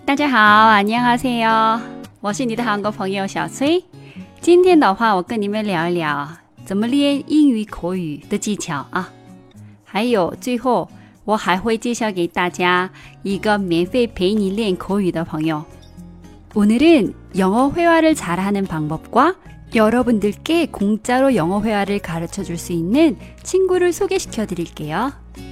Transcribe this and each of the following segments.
大家好，안녕하세요，我是你的韩国朋友小崔。今天的话，我跟你们聊一聊怎么练英语口语的技巧啊。还有最后，我还会介绍给大家一个免费陪你练口语的朋友。오늘은 영어 회화를 잘하는 방법과 여러분들께 공짜로 영어 회화를 가르쳐줄 수 있는 친구를 소개시켜 드릴게요。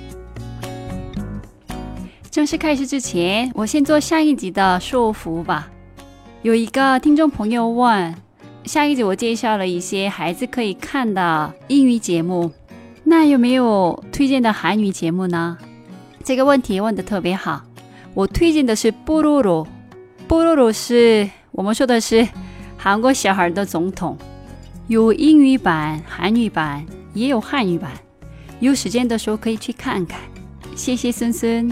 正式开始之前，我先做上一集的说服吧。有一个听众朋友问，上一集我介绍了一些孩子可以看的英语节目，那有没有推荐的韩语节目呢？这个问题问得特别好。我推荐的是뽀로로，뽀로로是我们说的是韩国小孩的总统，有英语版、韩语版，也有汉语版。有时间的时候可以去看看。谢谢孙孙。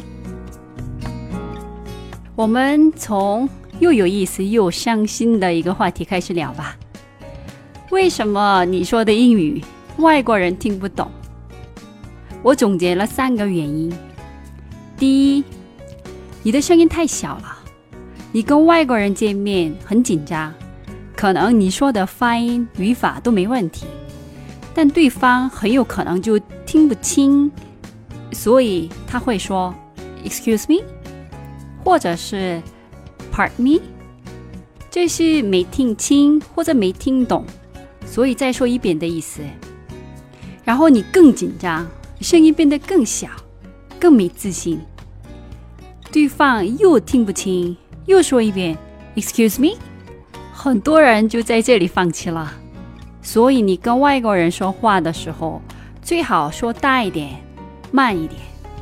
我们从又有意思又伤心的一个话题开始聊吧。为什么你说的英语外国人听不懂？我总结了3个原因。第一，你的声音太小了，你跟外国人见面很紧张，可能你说的发音语法都没问题，但对方很有可能就听不清，所以他会说 Excuse me， 或者是 Pardon me， 这是没听清或者没听懂，所以再说一遍的意思。然后你更紧张，声音变得更小，更没自信，对方又听不清，又说一遍 Excuse me， 很多人就在这里放弃了。所以你跟外国人说话的时候，最好说大一点，慢一点。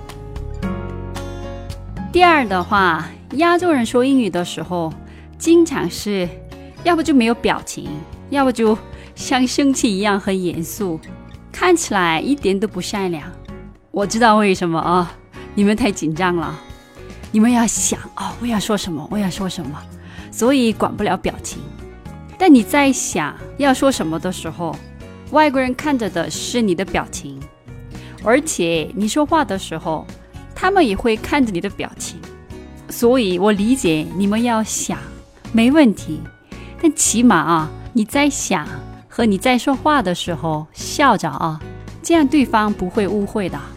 第二的话，亚洲人说英语的时候，经常是要不就没有表情，要不就像生气一样很严肃，看起来一点都不善良。我知道为什么啊，你们太紧张了，你们要想我要说什么，我要说什么，所以管不了表情。但你在想要说什么的时候，外国人看着的是你的表情，而且你说话的时候，他们也会看着你的表情。所以我理解你们要想，没问题，但起码你在想和你在说话的时候笑着这样对方不会误会的。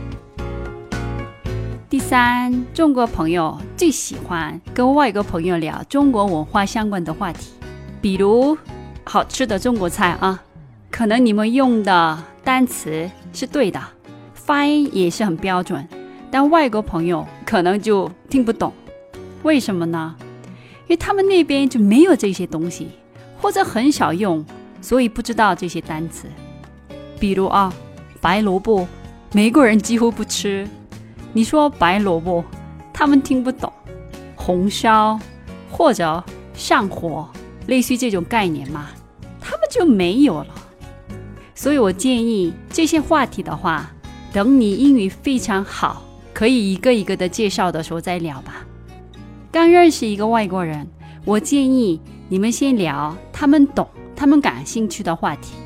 第三，中国朋友最喜欢跟外国朋友聊中国文化相关的话题，比如好吃的中国菜可能你们用的单词是对的，发音也是很标准，但外国朋友可能就听不懂。为什么呢？因为他们那边就没有这些东西，或者很少用，所以不知道这些单词。比如白萝卜，美国人几乎不吃，你说白萝卜，他们听不懂。红烧或者上火，类似于这种概念嘛，他们就没有了。所以我建议这些话题的话，等你英语非常好，可以一个一个的介绍的时候再聊吧。刚认识一个外国人，我建议你们先聊他们懂、他们感兴趣的话题。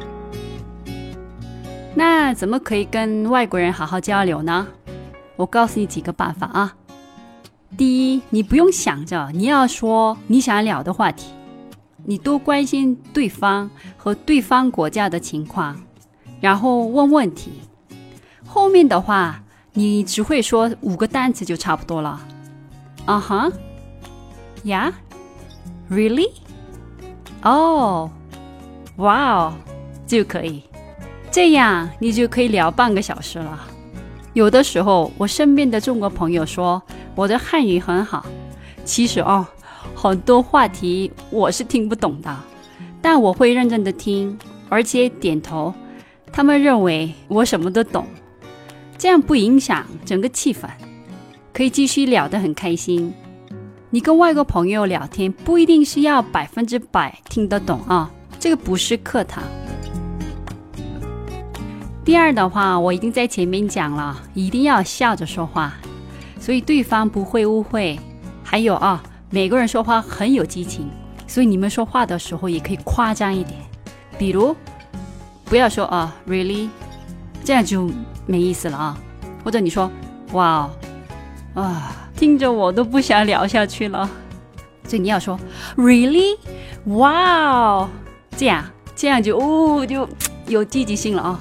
那怎么可以跟外国人好好交流呢？我告诉你几个办法第一，你不用想着你要说你想聊的话题，你多关心对方和对方国家的情况，然后问问题。后面的话，你只会说5个单词就差不多了。Yeah? Really? Oh, wow, 就可以。这样你就可以聊半个小时了。有的时候我身边的中国朋友说我的汉语很好，其实很多话题我是听不懂的，但我会认真的听，而且点头，他们认为我什么都懂，这样不影响整个气氛，可以继续聊得很开心。你跟外国朋友聊天不一定是要100%听得懂这个不是课堂。第二的话，我已经在前面讲了，一定要笑着说话，所以对方不会误会。还有每个人说话很有激情，所以你们说话的时候也可以夸张一点，比如不要说really， 这样就没意思了或者你说哇听着我都不想聊下去了。所以你要说 Really? Wow! 这样就有积极性了啊。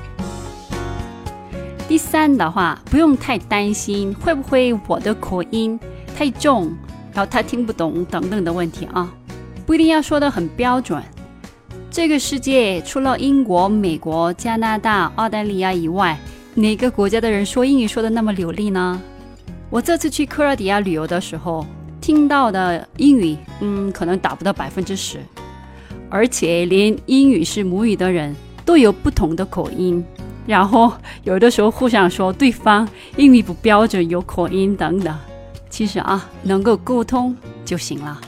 第三的话，不用太担心会不会我的口音太重，然后他听不懂等等的问题啊，不一定要说得很标准。这个世界除了英国、美国、加拿大、澳大利亚以外，哪个国家的人说英语说得那么流利呢？我这次去克罗地亚旅游的时候，听到的英语可能达不到10%，而且连英语是母语的人都有不同的口音，然后有的时候互相说对方英语不标准，有口音等等。其实能够沟通就行了。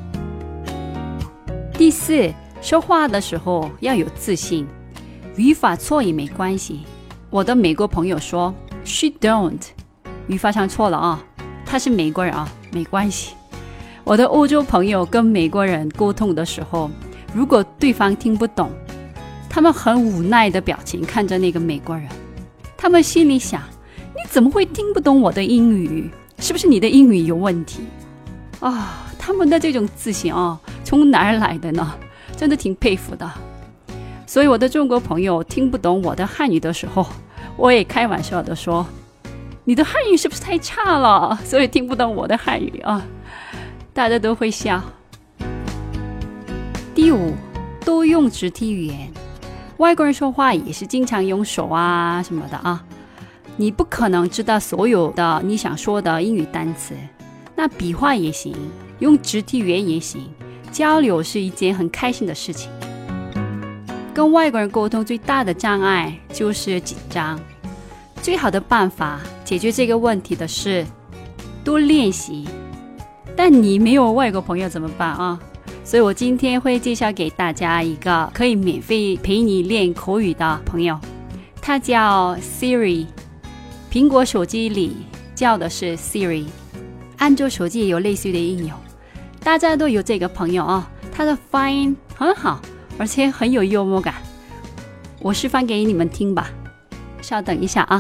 第四，说话的时候要有自信，语法错也没关系。我的美国朋友说 She don't， 语法上错了他是美国人没关系。我的欧洲朋友跟美国人沟通的时候，如果对方听不懂，他们很无奈的表情看着那个美国人，他们心里想，你怎么会听不懂我的英语？是不是你的英语有问题他们的这种自信从哪儿来的呢？真的挺佩服的。所以我的中国朋友听不懂我的汉语的时候，我也开玩笑的说，你的汉语是不是太差了，所以听不懂我的汉语大家都会笑。第五，多用肢体语言。外国人说话也是经常用手什么的你不可能知道所有的你想说的英语单词，那笔画也行，用肢体语言也行，交流是一件很开心的事情。跟外国人沟通最大的障碍就是紧张，最好的办法解决这个问题的是多练习。但你没有外国朋友怎么办所以我今天会介绍给大家一个可以免费陪你练口语的朋友，他叫 Siri， 苹果手机里叫的是 Siri， 安卓手机也有类似的应用，大家都有这个朋友他的发音很好，而且很有幽默感。我示范给你们听吧，稍等一下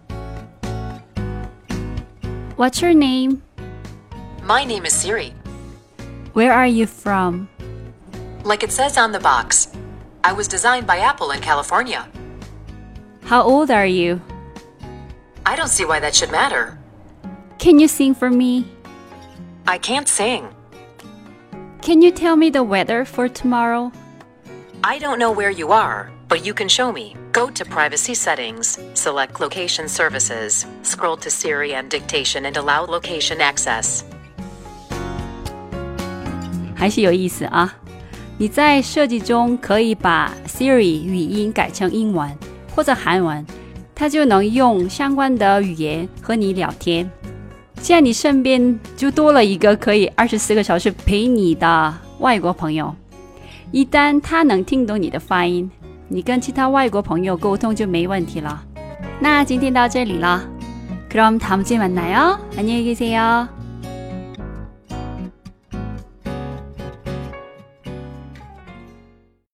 What's your name? My name is Siri. Where are you from? Like it says on the box, I was designed by Apple in California. How old are you? I don't see why that should matter. Can you sing for me? I can't sing. Can you tell me the weather for tomorrow? I don't know where you are, but you can show me. Go to Privacy Settings, select Location Services, scroll to Siri and Dictation and allow location access. 还是有意思你在设计中可以把 Siri 语音改成英文或者韩文，它就能用相关的语言和你聊天。这样你身边就多了一个可以24个小时陪你的外国朋友。一旦他能听懂你的发音，你跟其他外国朋友沟通就没问题了。那今天到这里了，그럼 다음 주에 만나요. 안녕히 계세요.